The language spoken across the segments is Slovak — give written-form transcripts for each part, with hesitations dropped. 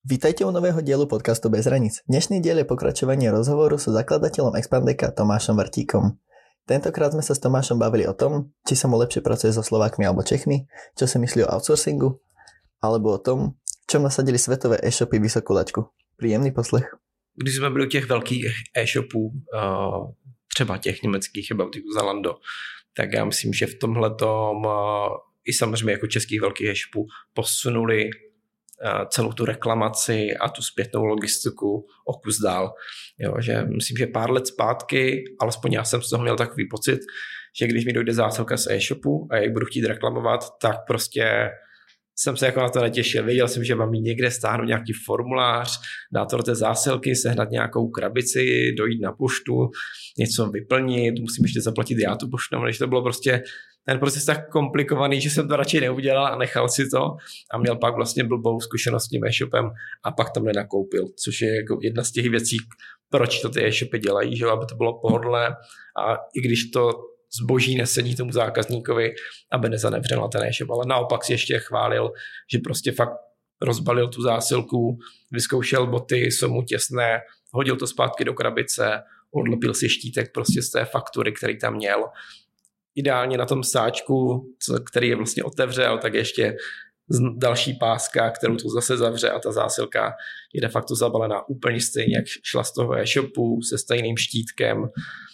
Vítajte u nového dielu podcastu Bez hraníc. Dnešný diel je pokračovanie rozhovoru so zakladateľom Expandeka Tomášom Vrtíkom. Tentokrát sme sa s Tomášom bavili o tom, či sa mu lepšie pracuje so Slovákmi alebo Čechmi, čo si myslí o outsourcingu, alebo o tom, čom nasadili svetové e-shopy vysokú laťku. Príjemný poslech. Když jsme byli u těch velkých e-shopů, třeba těch německých, About You, Zalando, tak já myslím, že v tomhletom i samozřejmě jako českých velkých e-shopů posunuli celou tu reklamaci a tu zpětnou logistiku o kus dál. Jo, že myslím, že pár let zpátky, alespoň já jsem z toho měl takový pocit, že když mi dojde zásilka z e-shopu a jak budu chtít reklamovat, tak prostě jsem se jako na to netěšil. Věděl jsem, že mám mít někde stáhnout nějaký formulář, dát to do té zásilky, sehnat nějakou krabici, dojít na poštu, něco vyplnit, musím ještě zaplatit já tu poštu, než to bylo prostě ten proces tak komplikovaný, že jsem to radši neudělal a nechal si to a měl pak vlastně blbou zkušenost s tím e-shopem a pak tam nenakoupil, což je jako jedna z těch věcí, proč to ty e-shopy dělají, že aby to bylo pohodlné a i když to zboží nesedí tomu zákazníkovi, aby nezanevřel na ten e-shop, ale naopak si ještě chválil, že prostě fakt rozbalil tu zásilku, vyzkoušel boty, jsou mu těsné, hodil to zpátky do krabice, odlepil si štítek prostě z té faktury, který tam měl. Ideálně na tom sáčku, který je vlastně otevřel, tak ještě další páska, kterou to zase zavře a ta zásilka je de facto zabalená úplně stejně, jak šla z toho e-shopu se stejným štítkem.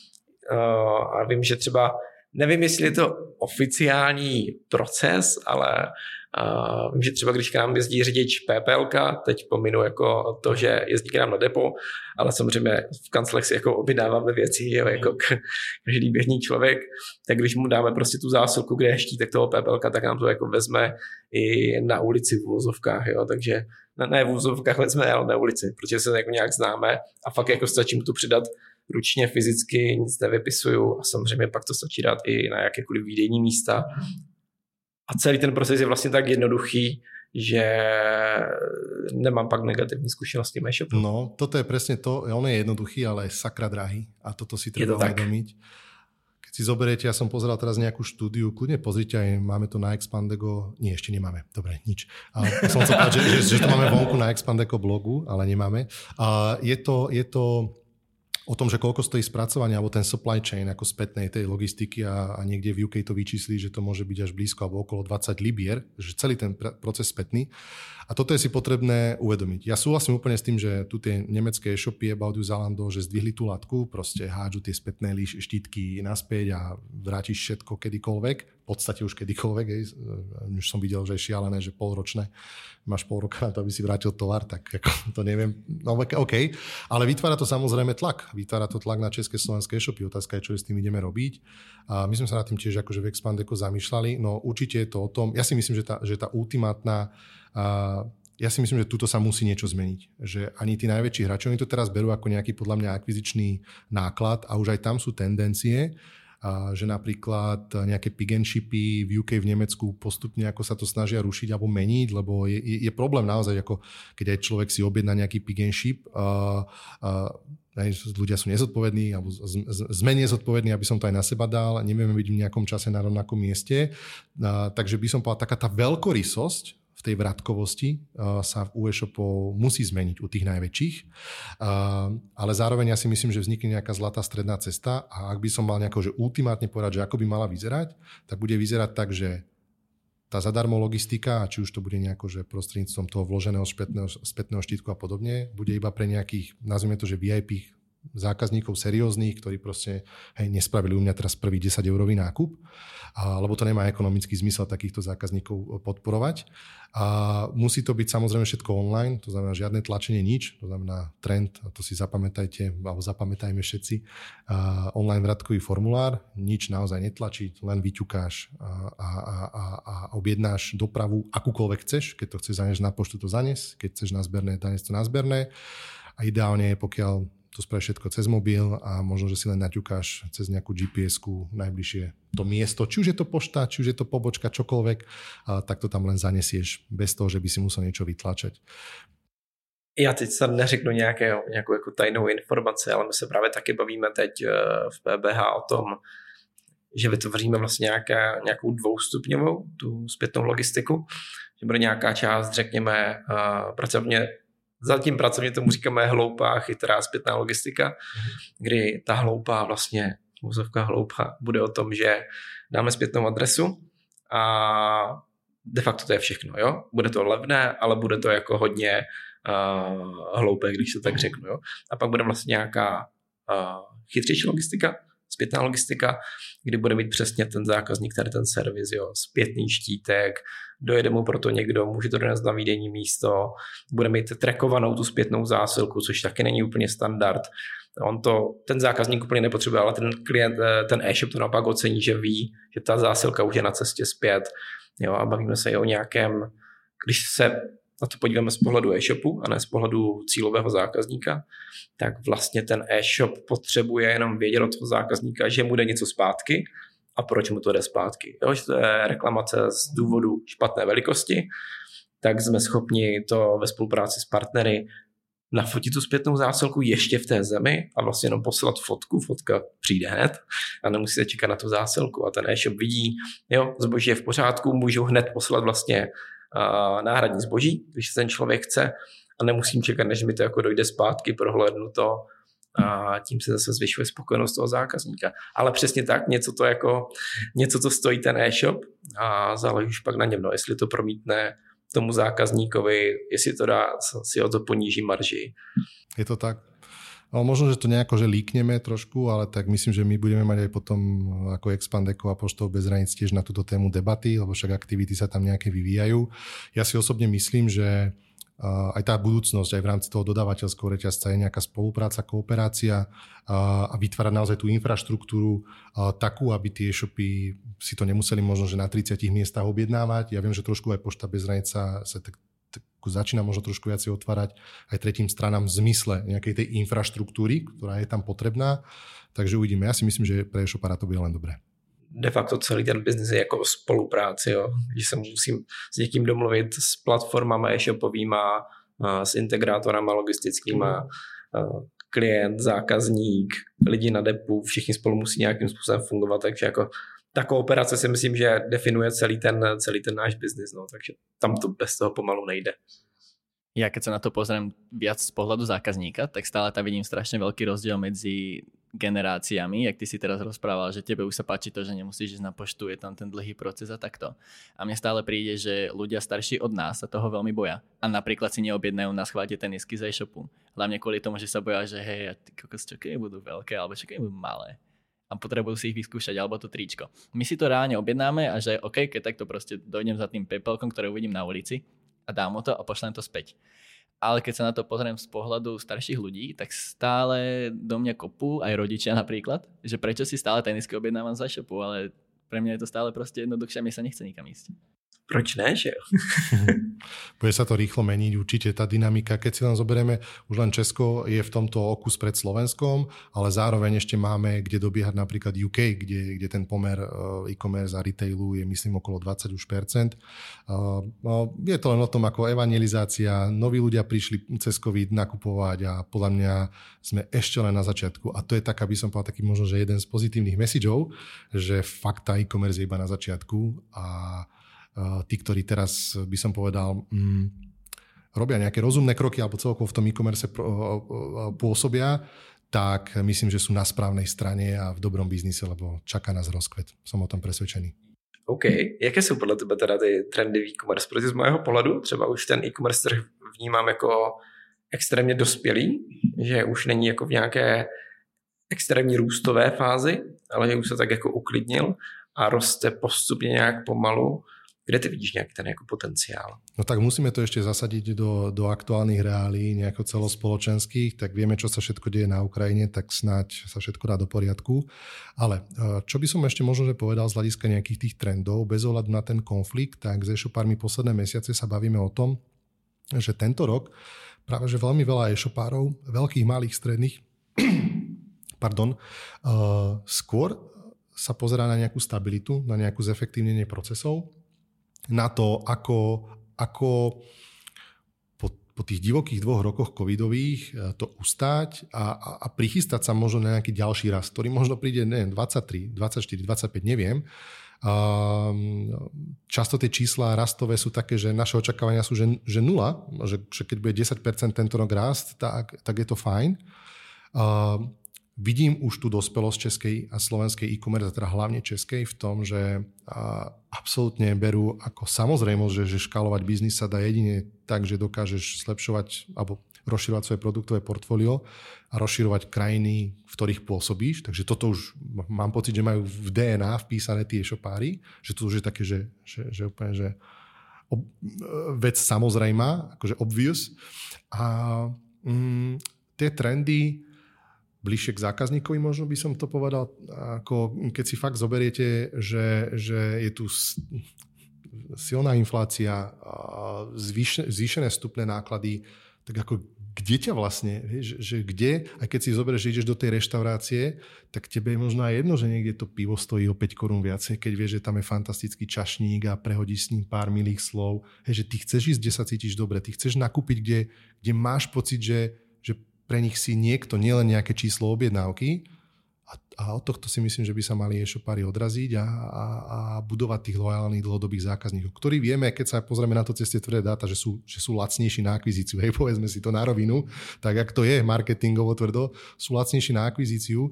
A vím, že třeba, nevím, jestli je to oficiální proces, ale vím, že třeba když k nám jezdí řidič PPLka, teď pominu jako to, že jezdí k nám na depo, ale samozřejmě v kanclech si jako objednáváme věci, jo, jako každý běžný člověk, tak když mu dáme prostě tu zásilku, kde je štítek toho PPLka, tak nám to jako vezme i na ulici v uvozovkách, jo, takže ne v uvozovkách vezme, ale na ulici, protože se jako nějak známe a fakt jako stačí mu to přidat ručně, fyzicky, nic nevypisuju a samozřejmě pak to stačí dát i na jakékoliv výdejní místa. A celý ten proces je vlastně tak jednoduchý, že nemám pak negativní zkušenosti s e-shopom. No, toto je presne to, on je jednoduchý, ale je sakra drahý a toto si treba uvedomiť. Keď si zoberiete, ja som pozeral teraz nejakú štúdiu, kľudne pozrite, aj máme to na Expandego, nie, ešte nemáme, dobre, nič. Som chcel povedať, že to máme vonku na Expandego blogu, ale nemáme. Je to o tom, že koľko stojí spracovanie alebo ten supply chain ako spätnej tej logistiky a niekde v UK to vyčísli, že to môže byť až blízko alebo okolo 20 libier, že celý ten proces spätný. A toto je si potrebné uvedomiť. Ja súhlasím úplne s tým, že tu tie nemecké e-shopy About You, Zalando, že zdvihli tú latku, proste hádžu tie spätné štítky naspäť a vrátiš všetko kedykoľvek, v podstate už kedykoľvek, už som videl, že je šialené, že polročné, máš pol roka na to, aby si vrátil tovar, tak ako, to neviem, no OK, ale vytvára to samozrejme tlak, vytvára to tlak na české, slovenské e-shopy, otázka je, čo s tým ideme robiť. A my sme sa nad tým tiež akože v Expandeku zamýšľali, no určite je to o tom, ja si myslím, že tá ultimátna ja si myslím, že tuto sa musí niečo zmeniť. Že ani tí najväčší hráči, oni to teraz berú ako nejaký podľa mňa akvizičný náklad a už aj tam sú tendencie, že napríklad nejaké pick and shipy v UK, v Nemecku postupne ako sa to snažia rušiť alebo meniť, lebo je problém naozaj, ako keď aj človek si objedná nejaký pick and ship, ľudia sú nezodpovední alebo sme nezodpovední, aby som to aj na seba dal, nevieme byť v nejakom čase na rovnakom mieste, takže by som povedal, taká tá veľkorysosť v tej vratkovosti sa u e-shopov musí zmeniť u tých najväčších, ale zároveň ja si myslím, že vznikne nejaká zlatá stredná cesta a ak by som mal nejako že ultimátne povedať, že ako by mala vyzerať, tak bude vyzerať tak, že tá zadarmo logistika, či už to bude nejako, že prostredníctvom toho vloženého spätného štítku a podobne, bude iba pre nejakých, nazvime to, že VIP zákazníkov serióznych, ktorí proste nespravili u mňa teraz prvý 10-eurový nákup, lebo to nemá ekonomický zmysel takýchto zákazníkov podporovať. A musí to byť samozrejme všetko online, to znamená žiadne tlačenie, nič, to znamená trend, a to si zapamätajte, alebo zapamätajme všetci, online vratkový formulár, nič naozaj netlačiť, len vyťukáš a objednáš dopravu akúkoľvek chceš, keď to chceš zaniesť na poštu, to zanes, keď chceš na zberné, zaniesť to na zberné a ideálne je, pokiaľ to spravíš všetko cez mobil a možno, že si len naťukáš cez nejakú GPS-ku najbližšie to miesto, či už je to pošta, či už je to pobočka, čokoľvek, tak to tam len zanesieš bez toho, že by si musel niečo vytlačať. Já teď se neřeknu nějakou jako tajnou informaci, ale my se právě taky bavíme teď v PBH o tom, že vytvoříme vlastně nějakou dvoustupňovou tu zpětnou logistiku, že bude nějaká část, řekněme, pracovně zatím pracovně tomu říkáme hloupá, chytrá zpětná logistika, kdy ta hloupá vlastně, úzovka hloupá, bude o tom, že dáme zpětnou adresu a de facto to je všechno, jo? Bude to levné, ale bude to jako hodně hloupé, když to tak řeknu, jo? A pak bude vlastně nějaká chytřejší logistika, zpětná logistika, kdy bude mít přesně ten zákazník tady ten servis, jo, zpětný štítek, dojede mu proto někdo, může to donést na výdejní místo, bude mít trackovanou tu zpětnou zásilku, což taky není úplně standard. Ten zákazník úplně nepotřebuje, ale ten klient, ten e-shop to naopak ocení, že ví, že ta zásilka už je na cestě zpět. Jo, a bavíme se i o nějakém, když se na to podíváme z pohledu e-shopu a ne z pohledu cílového zákazníka, tak vlastně ten e-shop potřebuje jenom vědět od toho zákazníka, že mu jde něco zpátky a proč mu to jde zpátky. Jo, že to je reklamace z důvodu špatné velikosti, tak jsme schopni to ve spolupráci s partnery nafotit tu zpětnou zásilku ještě v té zemi a vlastně jenom poslat fotku, fotka přijde hned a nemusí se čekat na tu zásilku a ten e-shop vidí, jo, zboží je v pořádku, můžou hned poslat vlastně náhradní zboží, když ten člověk chce a nemusím čekat, než mi to jako dojde zpátky, prohlédnu to a tím se zase zvyšuje spokojenost toho zákazníka. Ale přesně tak, něco, co stojí ten e-shop a záleží už pak na něm, no, jestli to promítne tomu zákazníkovi, jestli to dá, si o to poníží marži. Je to tak. Ale možno, že to nejako, že líkneme trošku, ale tak myslím, že my budeme mať aj potom ako Expandeko a Poštou bez hraníc tiež na túto tému debaty, lebo však aktivity sa tam nejaké vyvíjajú. Ja si osobne myslím, že aj tá budúcnosť, aj v rámci toho dodávateľského reťazca je nejaká spolupráca, kooperácia a vytvárať naozaj tú infraštruktúru takú, aby tie e-shopy si to nemuseli možno, že na 30 miestach objednávať. Ja viem, že trošku aj Pošta bez hraníc sa tak začína možno trošku viacej otvárať aj tretím stranám v zmysle nejakej tej infraštruktúry, ktorá je tam potrebná. Takže uvidíme. Ja si myslím, že pre e-shopára to bude len dobré. De facto celý ten biznis je jako o spolupráci, jo. Že se musím s někým domluvit s platformama e-shopovýma, s integrátorama logistickýma, klient, zákazník, lidi na depu, všichni spolu musí nějakým způsobem fungovat, takže jako ta kooperace si myslím, že definuje celý ten náš biznis, no, takže tam to bez toho pomalu nejde. Ja keď sa na to pozriem viac z pohľadu zákazníka, tak stále tam vidím strašne veľký rozdiel medzi generáciami, jak ty si teraz rozprával, že tebe už sa páči to, že nemusíš ísť na poštu, je tam ten dlhý proces a takto. A mne stále príde, že ľudia starší od nás sa toho veľmi boja. A napríklad si neobjednajú na schváte tenisky z e-shopu. Hlavne kvôli tomu, že sa boja, že hej, ty kokos, čo keď budú veľké, alebo čo keď budú malé. A potrebujú si ich vyskúšať, alebo to tričko. My si to reálne objednáme a že OK, keď takto proste dojdem za tým PayPalkom, ktoré uvidím na ulici a dám mu to a pošlem to späť. Ale keď sa na to pozriem z pohľadu starších ľudí, tak stále do mňa kopú aj rodičia napríklad, že prečo si stále tenisky objednávam z e-shopu, ale pre mňa je to stále proste jednoduchšie a mi sa nechce nikam ísť. Proč ne, že jo? Bude sa to rýchlo meniť, určite tá dynamika. Keď si len zoberieme, už len Česko je v tomto okus pred Slovenskom, ale zároveň ešte máme, kde dobiehať napríklad UK, kde ten pomer e-commerce a retailu je myslím okolo 20%. Je to len o tom, ako evangelizácia. Noví ľudia prišli cez COVID nakupovať a podľa mňa sme ešte len na začiatku. A to je tak, aby som povedal taký možno, že jeden z pozitívnych messageov, že fakt tá e-commerce je iba na začiatku a tí, ktorí teraz by som povedal robia nejaké rozumné kroky alebo celkovo v tom e-commerce pôsobia, tak myslím, že sú na správnej strane a v dobrom biznise, lebo čaká nás rozkvet. Som o tom presvedčený. OK. Jaké jsou podle tebe teda ty trendy v e-commerce? Protože z mého pohledu třeba už ten e-commerce trh vnímám jako extrémně dospělý, že už není jako v nějaké extrémní růstové fázi, ale že už se tak jako uklidnil a roste postupně nějak pomalu. Kde ty vidíš nejaký ten jako potenciál? No tak musíme to ešte zasadiť do aktuálnych reálií, nejako celospoločenských, tak vieme, čo sa všetko deje na Ukrajine, tak snáď sa všetko dá do poriadku. Ale čo by som ešte možno že povedal z hľadiska nejakých tých trendov, bez ohľadu na ten konflikt, tak s e-shopármi posledné mesiace sa bavíme o tom, že tento rok práve že veľmi veľa e-shopárov, veľkých, malých, stredných, skôr sa pozerá na nejakú stabilitu, na nejakú zefektívnenie procesov, na to, ako po tých divokých 2 rokoch covidových to ustáť a prichystať sa možno na nejaký ďalší rast, ktorý možno príde 23, 24, 25, neviem, Často tie čísla rastové sú také, že naše očakávania sú, že 0, že keď bude 10% tento rok rast, tak je to fajn. Vidím už tú dospelosť českej a slovenskej e-commerce, a teda hlavne českej, v tom, že absolútne berú ako samozrejmosť, že škálovať biznis sa dá jedine tak, že dokážeš zlepšovať alebo rozširovať svoje produktové portfólio a rozširovať krajiny, v ktorých pôsobíš. Takže toto už mám pocit, že majú v DNA vpísané tie e-shopári, že to už je také, že úplne, že vec samozrejmá, akože obvious. A tie trendy bližšie k zákazníkovi, možno by som to povedal, ako keď si fakt zoberiete, že je tu silná inflácia, zvýšené vstupné náklady, tak ako kde ťa vlastne, že kde, aj keď si zoberieš, že ideš do tej reštaurácie, tak tebe je možno aj jedno, že niekde to pivo stojí o 5 korún viacej, keď vieš, že tam je fantastický čašník a prehodíš s ním pár milých slov. Že ty chceš ísť, kde sa cítiš dobre, ty chceš nakúpiť, kde máš pocit, že pre nich si niekto, nielen nejaké číslo objednávky, a od tohto si myslím, že by sa mali e-shopári odraziť a budovať tých lojálnych dlhodobých zákazníkov, ktorí vieme, keď sa pozrieme na to cez tie tvrdé dáta, že sú lacnejší na akvizíciu. Hej, povedzme si to na rovinu, tak jak to je marketingovo tvrdo, sú lacnejší na akvizíciu,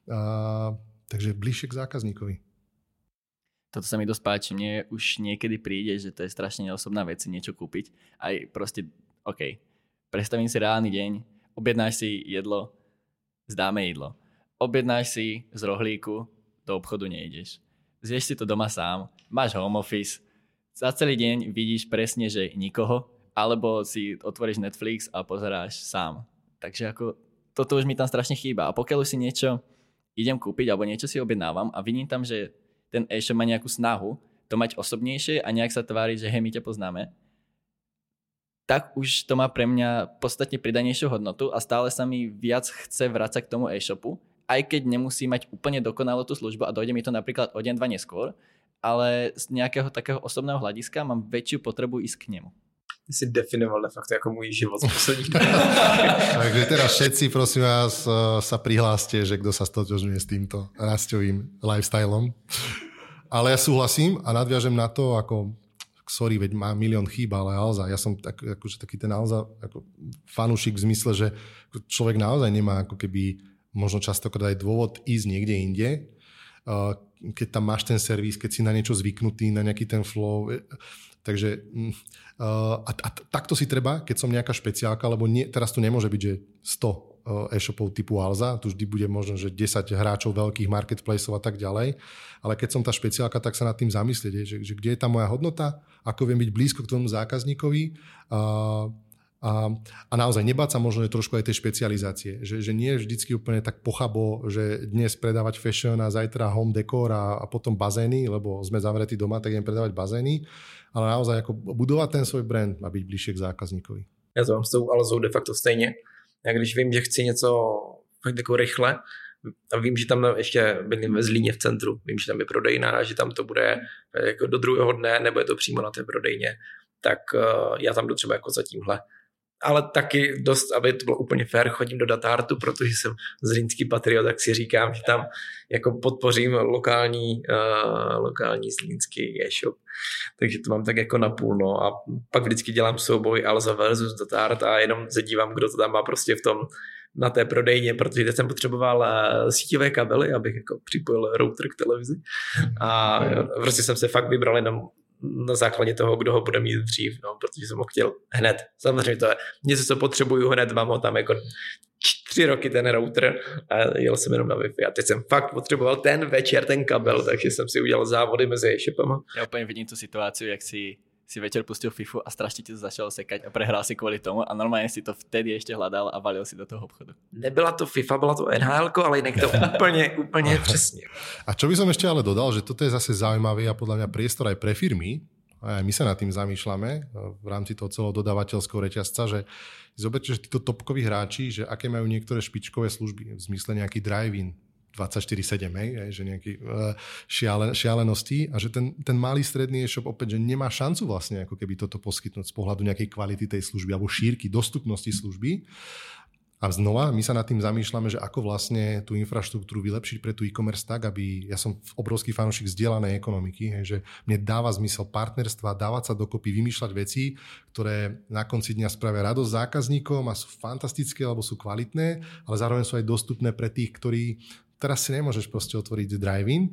takže bližšie k zákazníkovi. Toto sa mi dosť páči. Mne už niekedy príde, že to je strašne neosobná vec si niečo kúpiť. Aj proste, OK, predstavím si reálny deň, objednáš si jedlo, zdáme jedlo. Objednáš si z rohlíku, do obchodu nejdeš. Zješ si to doma sám, máš home office, za celý deň vidíš presne, že nikoho, alebo si otvoríš Netflix a pozeráš sám. Takže ako toto už mi tam strašne chýba. A pokiaľ už si niečo idem kúpiť, alebo niečo si objednávam a vidím tam, že ten e-shop má nejakú snahu to mať osobnejšie a nejak sa tvári, že hej, my ťa poznáme, tak už to má pre mňa podstatne pridanejšiu hodnotu a stále sa mi viac chce vrácať k tomu e-shopu, aj keď nemusí mať úplne dokonalú tú službu a dojde mi to napríklad o deň, 2 neskôr, ale z nejakého takého osobného hľadiska mám väčšiu potrebu ísť k nemu. Ty si definoval de facto ako môj život z posledních. Takže teraz všetci, prosím vás, sa prihláste, že kto sa stotožňuje s týmto rasťovým lifestylom. Ale ja súhlasím a nadviažem na to, ako sorry, veď má milión chýb, ale Alza, ja som akože taký ten Alza ako fanúšik v zmysle, že človek naozaj nemá ako keby možno častokrát aj dôvod ísť niekde inde, keď tam máš ten servis, keď si na niečo zvyknutý, na nejaký ten flow. Takže takto si treba, keď som nejaká špeciálka, lebo teraz tu nemôže byť, že 100 e-shopov typu Alza, tu vždy bude možno, že 10 hráčov veľkých marketplaceov a tak ďalej, ale keď som tá špeciálka, tak sa nad tým zamyslieť, že kde je tá moja hodnota, ako viem byť blízko k tomu zákazníkovi, a naozaj nebáť sa možno trošku aj tej špecializácie, že nie je vždycky úplne tak pochabo, že dnes predávať fashion a zajtra home decor a potom bazény, lebo sme zavretí doma, tak idem predávať bazény, ale naozaj ako budovať ten svoj brand a byť bližšie k zákazníkovi. Já to mám s tou Alzou de facto stejně. Já když vím, že chci něco fakt jako rychle a vím, že tam ještě bydlím ve Zlíně v centru, vím, že tam je prodejna, že tam to bude jako do druhého dne, nebo je to přímo na té prodejně, tak já tam jdu třeba jako za tímhle. Ale taky dost, aby to bylo úplně fair, chodím do Datartu, protože jsem zlínský patriot, tak si říkám, že tam jako podpořím lokální zlínský e-shop. Takže to mám tak jako napůl, no. A pak vždycky dělám souboj Alza versus Datart a jenom se dívám, kdo to tam má prostě v tom na té prodejně, protože teď jsem potřeboval síťové kabely, abych jako připojil router k televizi. A prostě jsem se fakt vybral jenom na základě toho, kdo ho bude mít dřív, no, protože jsem ho chtěl hned. Samozřejmě to je něco, co potřebuju hned, mám ho tam jako 3 roky ten router a jel jsem jenom na Wi-Fi a teď jsem fakt potřeboval ten večer ten kabel, takže jsem si udělal závody mezi e-shopama. Ja úplne vidím tú situáciu, jak si večer pustil FIFU a strašne ti to začalo sekať a prehral si kvôli tomu a normálne si to vtedy ešte hľadal a valil si do toho obchodu. Nebyla to FIFA, byla to NHL, ale jinak to úplně přesně. A čo by som ešte ale dodal, že toto je zase zaujímavý a podľa mňa priestor aj pre firmy, a aj my sa nad tým zamýšľame v rámci toho celého dodávateľského reťazca, že zoberte, že títo topkoví hráči, že aké majú niektoré špičkové služby, v zmysle nejaký drive-in, 24/7, že nejaké šialenosti a že ten malý stredný e-shop opäť, že nemá šancu vlastne ako keby toto poskytnúť z pohľadu nejakej kvality tej služby alebo šírky, dostupnosti služby. A znova my sa nad tým zamýšľame, že ako vlastne tú infraštruktúru vylepšiť pre tú e-commerce tak, aby ja som obrovský fanúšik zdieľanej ekonomiky, že mne dáva zmysel partnerstva, dávať sa dokopy, vymýšľať veci, ktoré na konci dňa spravia radosť zákazníkom a sú fantastické alebo sú kvalitné, ale zároveň sú aj dostupné pre tých, ktorí teraz si nemôžeš proste otvoriť drive-in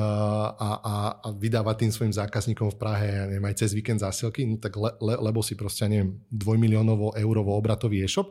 a vydávať tým svojim zákazníkom v Prahe, ja neviem, aj cez víkend zásielky, no tak lebo si proste, ja neviem, 2 miliónovo eurovo obratový e-shop.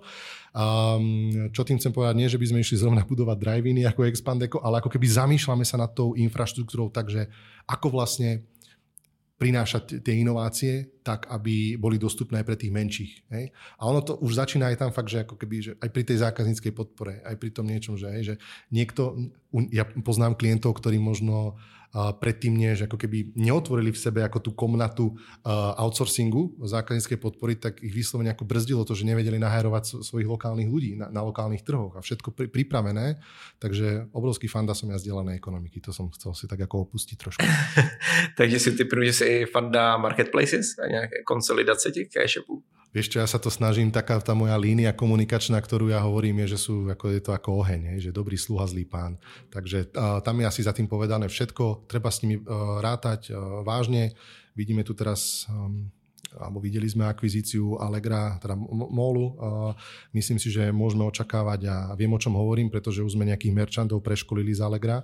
Čo tým chcem povedať, nie, že by sme išli zrovna budovať drive-iny ako Expandeko, ale ako keby zamýšľame sa nad tou infraštruktúrou, takže ako vlastne prinášať tie inovácie tak, aby boli dostupné aj pre tých menších. Hej? A ono to už začína aj tam fakt, že ako keby, že aj pri tej zákazníckej podpore, aj pri tom niečom, že niekto, ja poznám klientov, ktorí možno predtým nie, že ako keby neotvorili v sebe ako tú komnatu outsourcingu zákazníckej podpory, tak ich vyslovene ako brzdilo to, že nevedeli nahajrovať svojich lokálnych ľudí na lokálnych trhoch a všetko pripravené. Takže obrovský fanda som ja zdieľanej ekonomiky. To som chcel si tak ako opustiť trošku. Takže si typujem, že si fanda marketplaces a nejaké konsolidace těch e-shopů? Vieš čo, ja sa to snažím, taká tá moja línia komunikačná, ktorú ja hovorím, je, že je to ako oheň, že dobrý sluha, zlý pán. Takže tam je asi za tým povedané všetko, treba s nimi rátať vážne. Vidíme tu teraz, alebo videli sme akvizíciu Allegra, teda Molu. Myslím si, že môžeme očakávať a viem, o čom hovorím, pretože už sme nejakých merchantov preškolili z Allegra,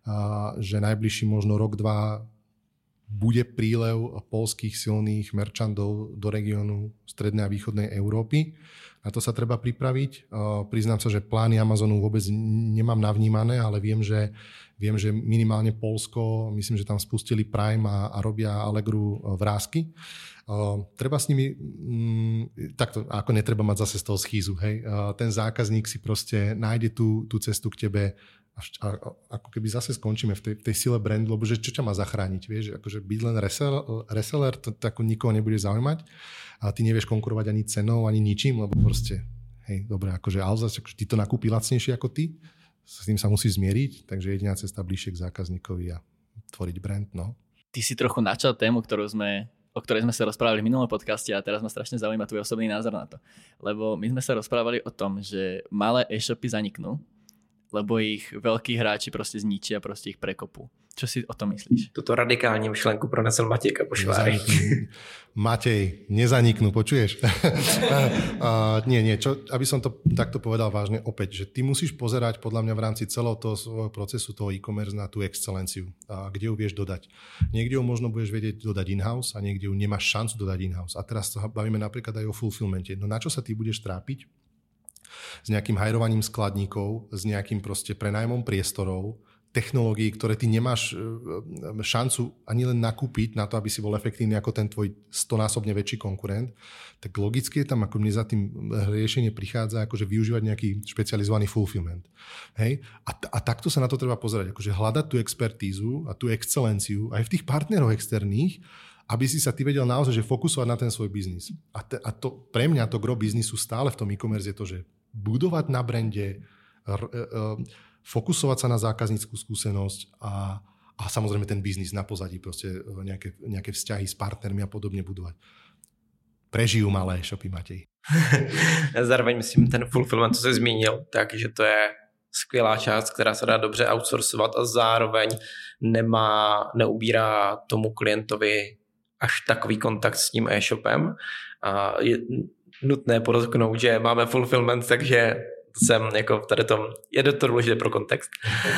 že najbližší možno rok, dva bude prílev poľských silných merchantov do regiónu strednej a východnej Európy. Na to sa treba pripraviť. Priznám sa, že plány Amazonu vôbec nemám navnímané, ale viem, že minimálne Poľsko, myslím, že tam spustili Prime a robia Allegru vrásky. Treba s nimi, takto, ako netreba mať zase z toho schýzu. Hej? Ten zákazník si proste nájde tú cestu k tebe a ako keby zase skončíme v tej sile brandu, lebo že čo ťa má zachrániť, vieš, akože byť len reseller, to ako nikoho nebude zaujímať a ty nevieš konkurovať ani cenou, ani ničím, lebo proste, hej, dobre, akože Alza, akože ty to nakúpi lacnejšie ako ty, s tým sa musíš zmieriť, takže jediná cesta bližšie k zákazníkovi a tvoriť brand, no. Ty si trochu načal tému, o ktorej sme sa rozprávali v minulom podcaste a teraz ma strašne zaujíma tvoj osobný názor na to. Lebo my sme sa rozprávali o tom, že malé e-shopy zaniknú, lebo ich veľkí hráči proste zničia, proste ich prekopú. Čo si o tom myslíš? Toto radikální myšlenku pronesl Matějka Pošváry. Matej, nezaniknú, počuješ? Nie, aby som to takto povedal vážne opäť, že ty musíš pozerať podľa mňa v rámci celého toho svojho procesu toho e-commerce na tú excelenciu, kde ju vieš dodať. Niekde ju možno budeš vedieť dodať in-house a niekde ju nemáš šancu dodať in-house. A teraz sa bavíme napríklad aj o fulfillmente. No na čo sa ty budeš trápiť? S nejakým hajrovaním skladníkov, s nejakým proste prenajmom priestorov, technológií, ktoré ty nemáš šancu ani len nakúpiť na to, aby si bol efektívny ako ten tvoj 100-násobne väčší konkurent, tak logicky je tam, ako mne za tým riešenie prichádza, akože využívať nejaký špecializovaný fulfillment. Hej? A takto sa na to treba pozerať, akože hľadať tú expertízu a tú excelenciu aj v tých partneroch externých, aby si sa ty vedel naozaj že fokusovať na ten svoj biznis. A to pre mňa to gro biznisu stále v tom e-commerce je to, že budovať na brande, fokusovať sa na zákazníckú skúsenosť a samozrejme ten biznis na pozadí, proste nejaké vzťahy s partnermi a podobne budovať. Prežijú malé shopy, Matej. Zároveň myslím, ten fulfillment, co jsi zmínil, takže to je skvělá část, která se dá dobře outsourcovat a zároveň neubírá tomu klientovi až takový kontakt s tím e-shopem. A je nutné podotknout, že máme fulfillment, takže jsem jako v tady tom, je to důležité pro kontext,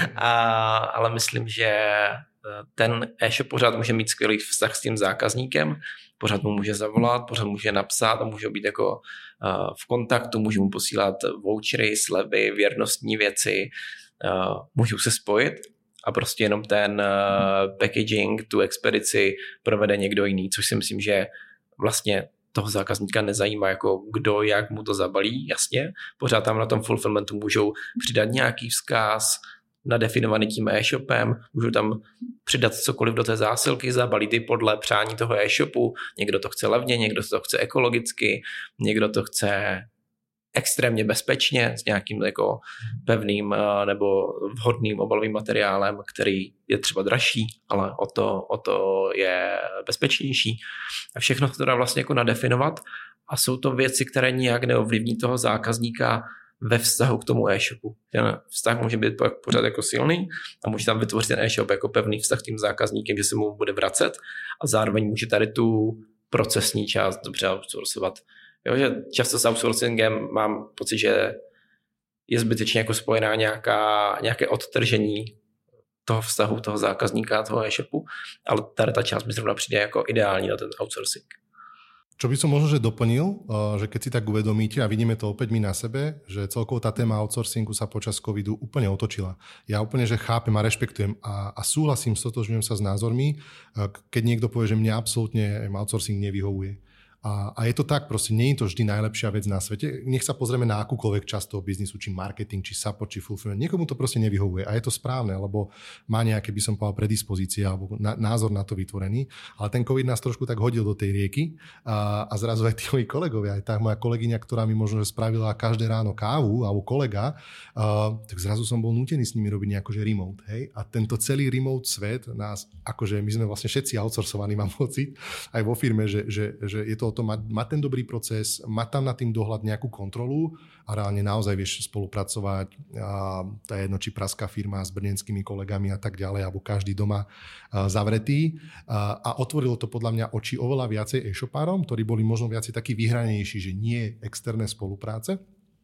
ale myslím, že ten e-shop pořád může mít skvělý vztah s tím zákazníkem, pořád mu může zavolat, pořád může napsat a může být jako v kontaktu, může mu posílat vouchery, slevy, věrnostní věci, můžou se spojit a prostě jenom ten packaging, tu expedici provede někdo jiný, což si myslím, že vlastně toho zákazníka nezajímá, jako kdo, jak mu to zabalí, jasně. Pořád tam na tom fulfillmentu můžou přidat nějaký vzkaz nadefinovaný tím e-shopem, můžou tam přidat cokoliv do té zásilky, zabalí ty podle přání toho e-shopu. Někdo to chce levně, někdo to chce ekologicky, někdo to chce extrémně bezpečně s nějakým jako pevným nebo vhodným obalovým materiálem, který je třeba dražší, ale o to je bezpečnější. A všechno to dá vlastně jako nadefinovat a jsou to věci, které nijak neovlivní toho zákazníka ve vztahu k tomu e-shopu. Ten vztah může být pořád jako silný a může tam vytvořit ten e-shop jako pevný vztah tím zákazníkem, že se mu bude vracet a zároveň může tady tu procesní část dobře outsourcovat. Jo, že často s outsourcingem mám pocit, že je zbytečně jako spojená nějaké odtržení toho vztahu, toho zákazníka, toho e-shopu, ale tady ta část mi zrovna přijde jako ideální na ten outsourcing. Čo by som možno že doplnil, že keď si tak uvedomíte a vidíme to opäť my na sebe, že celkovo tá téma outsourcingu sa počas covidu úplne otočila. Ja úplne, že chápem a rešpektujem a súhlasím, stotožňujem sa s názormi, keď niekto povie, že mne absolútne outsourcing nevyhovuje. A je to tak, proste nie je to vždy najlepšia vec na svete. Nech sa pozrieme na akúkoľvek časť toho biznisu, či marketing, či support, či fulfillment. Niekomu to proste nevyhovuje a je to správne, lebo má nejaké, by som povedal, predispozície alebo názor na to vytvorený. Ale ten COVID nás trošku tak hodil do tej rieky a zrazu aj tí moji kolegovia, aj tá moja kolegyňa, ktorá mi možno že spravila každé ráno kávu, alebo kolega, tak zrazu som bol nútený s nimi robiť nejako, že remote. Hej? A tento celý remote svet nás, akože my sme vlastne všetci outsourcovaní, mám pocit, aj vo firme, že je to o tom mať ten dobrý proces, mať tam nad tým dohľad nejakú kontrolu a reálne naozaj vieš spolupracovať. To je jedno, či praská firma s brněnskými kolegami a tak ďalej, alebo každý doma zavretý. A otvorilo to podľa mňa oči oveľa viacej e-shopárom, ktorí boli možno viacej takí vyhranejší, že nie externé spolupráce.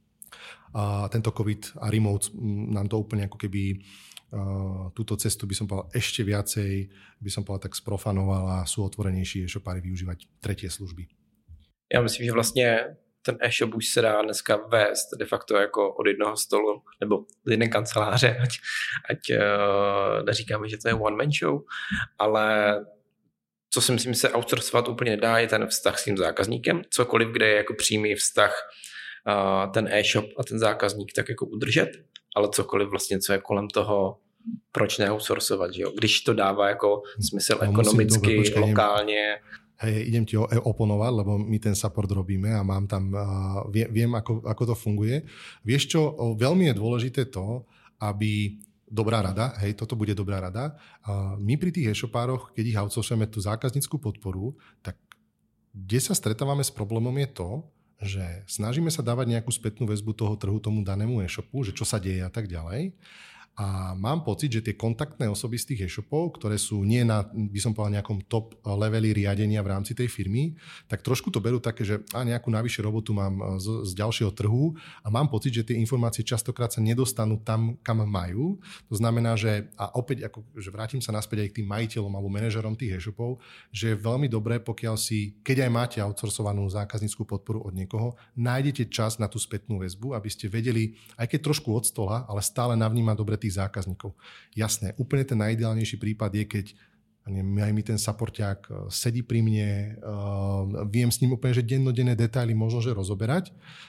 A tento COVID a remote nám to úplne ako keby túto cestu by som povedal ešte viacej, by som povedal tak sprofanoval a sú otvorenejší e-shopári využívať tretie služby. Já myslím, že vlastně ten e-shop už se dá dneska vést de facto jako od jednoho stolu nebo z jedné kanceláře, ať neříkáme, že to je one man show, ale co si myslím, se outsourcovat úplně nedá, je ten vztah s tím zákazníkem. Cokoliv, kde je jako přímý vztah ten e-shop a ten zákazník tak jako udržet, ale cokoliv vlastně, co je kolem toho, proč neoutsourcovat, že jo? Když to dává jako smysl ekonomicky, lokálně. Hej, idem ti oponovať, lebo my ten support robíme a mám tam, viem ako to funguje. Vieš čo, veľmi je dôležité to, aby dobrá rada, hej, toto bude dobrá rada. My pri tých e-shopároch, keď ich outsourcujeme tú zákaznícku podporu, tak kde sa stretávame s problémom je to, že snažíme sa dávať nejakú spätnú väzbu toho trhu tomu danému e-shopu, že čo sa deje a tak ďalej. A mám pocit, že tie kontaktné osoby z tých e-shopov, ktoré sú nie na, by som povedal, nejakom top leveli riadenia v rámci tej firmy, tak trošku to berú také, že nejakú navyše robotu mám z ďalšieho trhu a mám pocit, že tie informácie častokrát sa nedostanú tam, kam majú. To znamená, že a opäť, že vrátim sa naspäť aj k tým majiteľom alebo manažerom tých e-shopov, že je veľmi dobré, pokiaľ si, keď aj máte outsourcovanú zákaznícku podporu od niekoho, nájdete čas na tú spätnú väzbu, aby ste vedeli, aj keď trošku od stola, ale stále navnímať dobre tých zákazníkov. Jasné, úplne ten najideálnejší prípad je, keď aj mi ten supporťák sedí pri mne, viem s ním úplne, že dennodenné detaily možno, že rozoberať.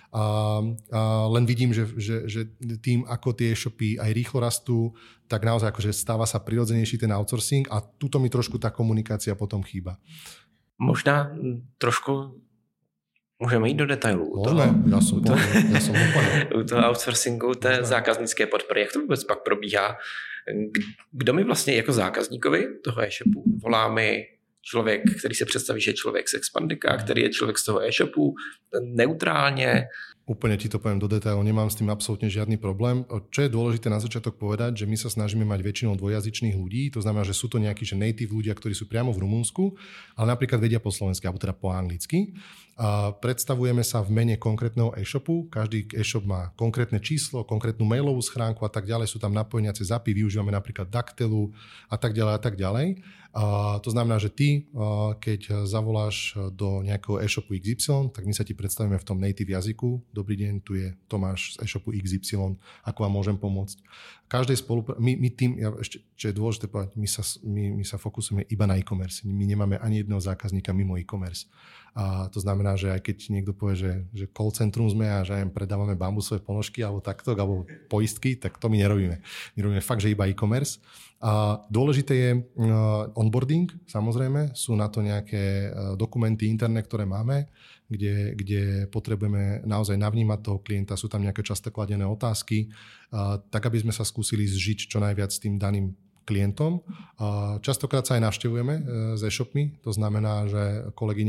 Len vidím, že tým, ako tie e-shopy aj rýchlo rastú, tak naozaj akože stáva sa prirodzenejší ten outsourcing a tuto mi trošku tá komunikácia potom chýba. Možná trošku můžeme jít do detailů. Já jsem úplně. U toho outsourcingu té zákaznické podpory. Jak to vůbec pak probíhá? Kdo mi vlastně jako zákazníkovi toho e-shopu volá mi člověk, který se představí, že je člověk z Expandika, který je člověk z toho e-shopu, neutrálně? Úplne ti to poviem do detailu, nemám s tým absolútne žiadny problém. Čo je dôležité na začiatok povedať, že my sa snažíme mať väčšinou dvojazyčných ľudí, to znamená, že sú to nejakí že native ľudia, ktorí sú priamo v Rumunsku, ale napríklad vedia po slovensky, alebo teda po anglicky. Predstavujeme sa v mene konkrétneho e-shopu, každý e-shop má konkrétne číslo, konkrétnu mailovú schránku a tak ďalej, sú tam napojeniace zapy, využívame napríklad Daktelu a tak ďalej a tak ďalej. To znamená, že ty, keď zavoláš do nejakého e-shopu XY, tak my sa ti predstavíme v tom native jazyku. Dobrý deň, tu je Tomáš z e-shopu XY, ako vám môžem pomôcť. Každej my tým, ešte, čo je dôležité povedať, my sa fokusujeme iba na e-commerce. My nemáme ani jedného zákazníka mimo e-commerce. A to znamená, že aj keď niekto povie, že call centrum sme a že aj predávame bambusové ponožky alebo takto, alebo poistky, tak to my nerobíme. My robíme fakt, že iba e-commerce. A dôležité je onboarding, samozrejme. Sú na to nejaké dokumenty interné, ktoré máme, kde potrebujeme naozaj navnímať toho klienta. Sú tam nejaké často kladené otázky, tak aby sme sa skúsili zžiť čo najviac s tým daným klientom. Častokrát sa aj navštevujeme s e-shopmi, to znamená, že kolegyne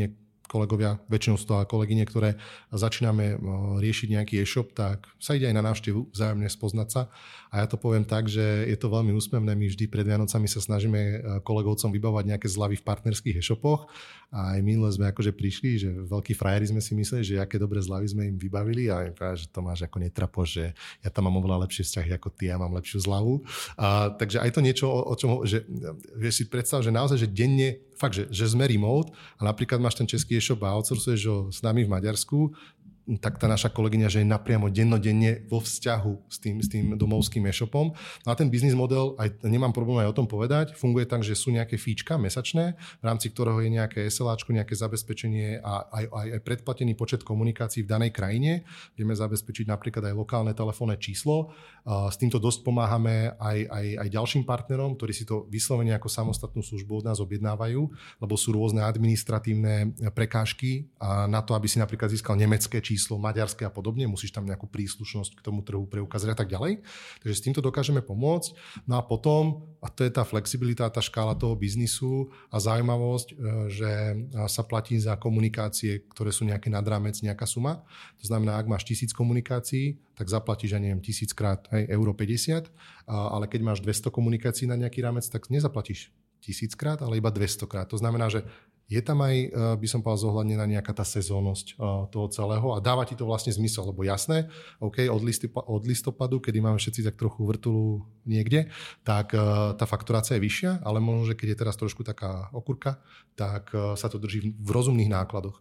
kolegovia, väčšinou sú to kolegyne, ktoré začíname riešiť nejaký e-shop, tak sa ide aj na návštevu, vzájomne spoznať sa. A ja to poviem tak, že je to veľmi úsmevné. My vždy pred Vianocami sa snažíme kolegovcom vybavovať nejaké zľavy v partnerských e-shopoch. A aj minule sme akože prišli, že veľkí frajeri sme si mysleli, že aké dobré zľavy sme im vybavili a im povedali, že to máš ako netrapo, že ja tam mám oveľa lepšie vzťahy ako ty, ja mám lepšiu zľavu. Takže aj to niečo, o čom, že vieš si predstav, že naozaj, že denne, fakt, že sme remote a napríklad máš ten český e-shop a outsourcuješ ho s nami v Maďarsku, tak tá naša kolegyňa, že je napriamo dennodenne vo vzťahu s tým domovským e-shopom. No a ten biznis model, aj nemám problém aj o tom povedať, funguje tak, že sú nejaké fíčka mesačné, v rámci ktorého je nejaké SLAčko, nejaké zabezpečenie a aj predplatený počet komunikácií v danej krajine. Vieme zabezpečiť napríklad aj lokálne telefónne číslo. S týmto dosť pomáhame aj ďalším partnerom, ktorí si to vyslovene ako samostatnú službu od nás objednávajú, lebo sú rôzne administratívne prekážky a na to, aby si napríklad získal nemecké číslo, maďarské a podobne, musíš tam nejakú príslušnosť k tomu trhu preukázať a tak ďalej. Takže s týmto dokážeme pomôcť. No a potom, a to je tá flexibilita, tá škála toho biznisu a zaujímavosť, že sa platí za komunikácie, ktoré sú nejaké nad rámec, nejaká suma. To znamená, ak máš 1000 komunikácií, tak zaplatíš, ja neviem, 1000 krát euro 50, ale keď máš 200 komunikácií na nejaký rámec, tak nezaplatíš 1000 krát, ale iba 200 krát. To znamená, že je tam aj, by som povedal, zohľadnená nejaká tá sezónnosť toho celého a dáva ti to vlastne zmysel, lebo jasné, OK, od listopadu, kedy máme všetci tak trochu vrtulu niekde, tak tá fakturácia je vyššia, ale možno, že keď je teraz trošku taká okurka, tak sa to drží v rozumných nákladoch.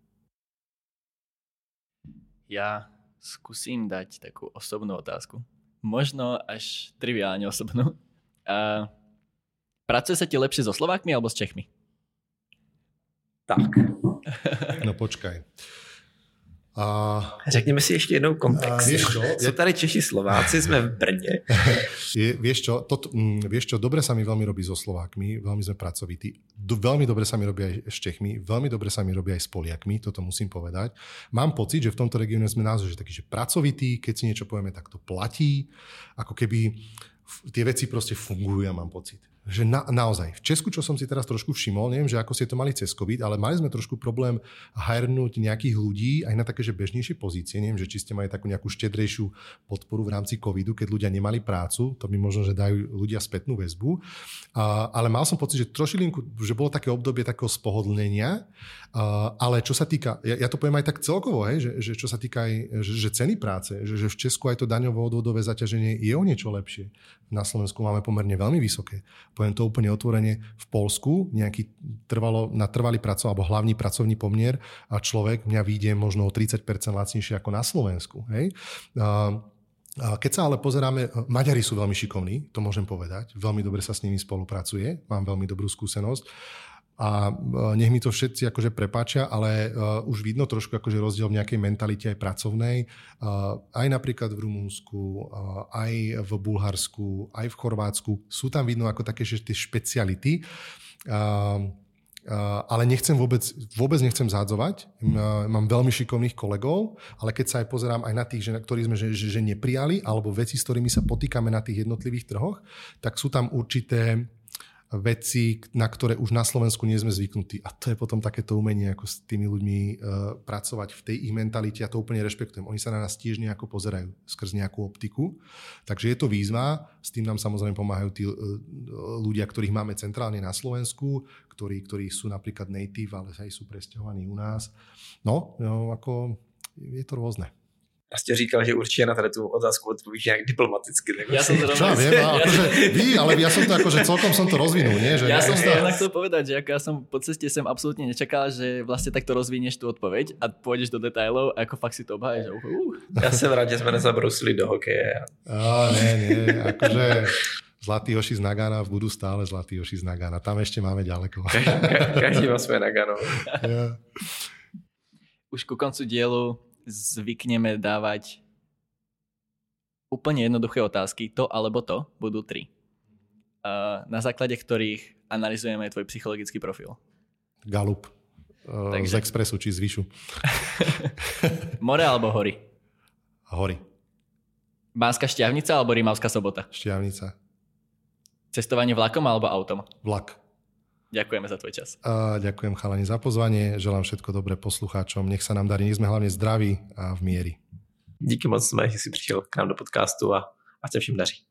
Ja skúsim dať takú osobnú otázku. Možno až triviálne osobnú. Pracuje sa ti lepšie so Slovákmi alebo s Čechmi? Tak. No počkaj. Řekněme si ještě jednou kontext. Sú tady Češi, Slováci, sme v Brně. Vieš čo, dobre sa mi veľmi robí so Slovákmi, veľmi sme pracovití. Veľmi dobre sa mi robí aj s Čechmi, veľmi dobre sa mi robí aj s Poliakmi, toto musím povedať. Mám pocit, že v tomto regióne sme naozaj takí, že pracovití, keď si niečo povieme, tak to platí. Ako keby tie veci proste fungujú, ja mám pocit. Že naozaj. V Česku, čo som si teraz trošku všimol, neviem, že ako ste to mali cez COVID, ale mali sme trošku problém hirnúť nejakých ľudí aj na také, že bežnejšie pozície. Neviem, že či ste mali takú nejakú štedrejšiu podporu v rámci covidu, keď ľudia nemali prácu, to by možno, že dajú ľudia spätnú väzbu. Ale mal som pocit, že trošilinku, že bolo také obdobie takého spohodlnenia, ale čo sa týka, ja to poviem aj tak celkovo, že čo sa týka aj že ceny práce, že v Česku aj to daňovo-odvodové zaťaženie je o niečo lepšie. Na Slovensku máme pomerne veľmi vysoké. Poviem to úplne otvorene, v Poľsku nejaký na trvalý alebo hlavný pracovný pomier a človek mňa vyjde možno o 30% lacnejšie ako na Slovensku. Hej? Keď sa ale pozeráme, Maďari sú veľmi šikovní, to môžem povedať, veľmi dobre sa s nimi spolupracuje, mám veľmi dobrú skúsenosť. A nech mi to všetci akože prepáčia, ale už vidno trošku akože rozdiel v nejakej mentalite aj pracovnej. Aj napríklad v Rumunsku, aj v Bulharsku, aj v Chorvátsku. Sú tam vidno ako také, že tie špeciality. Ale vôbec nechcem zádzovať. Mám veľmi šikovných kolegov, ale keď sa aj pozerám aj na tých, ktorí sme že neprijali, alebo veci, s ktorými sa potýkame na tých jednotlivých trhoch, tak sú tam určité veci, na ktoré už na Slovensku nie sme zvyknutí. A to je potom takéto umenie, ako s tými ľuďmi pracovať v tej ich mentalite. Ja to úplne rešpektujem. Oni sa na nás tiež nejako pozerajú skrz nejakú optiku. Takže je to výzva. S tým nám samozrejme pomáhajú tí ľudia, ktorých máme centrálne na Slovensku, ktorí sú napríklad native, ale aj sú presťahovaní u nás. No, ako je to rôzne. Já jste říkal, že určitě na tady tu otázku odpovíš nějak diplomaticky. Ja som ale ja som to akože celkom som to rozvinul, nie? Že ja som chcel povedať, že ja som po ceste sem absolútne nečakal, že vlastne takto rozvinieš tú odpoveď a pôjdeš do detailov a ako fakt si to obháješ. Ja som rád, že sme nezabrusili do hokeje. Nie, akože zlatí hoši z Nagana budú stále zlatí hoši z Nagana. Tam ešte máme ďaleko. Každý má svoje Nagano. Yeah. Už ku koncu dielu zvykneme dávať úplne jednoduché otázky, to alebo to, budú 3. Na základe ktorých analyzujeme tvoj psychologický profil. Galup. Z Expressu či z Vyšu. More alebo hory? Hory. Banská Štiavnica alebo Rimavská Sobota? Štiavnica. Cestovanie vlakom alebo autom? Vlak. Ďakujeme za tvoj čas. Ďakujem chalani za pozvanie, želám všetko dobré poslucháčom, nech sa nám darí, nech sme hlavne zdraví a v miery. Díky moc, že jsi přišel k nám do podcastu a ať se všem daří.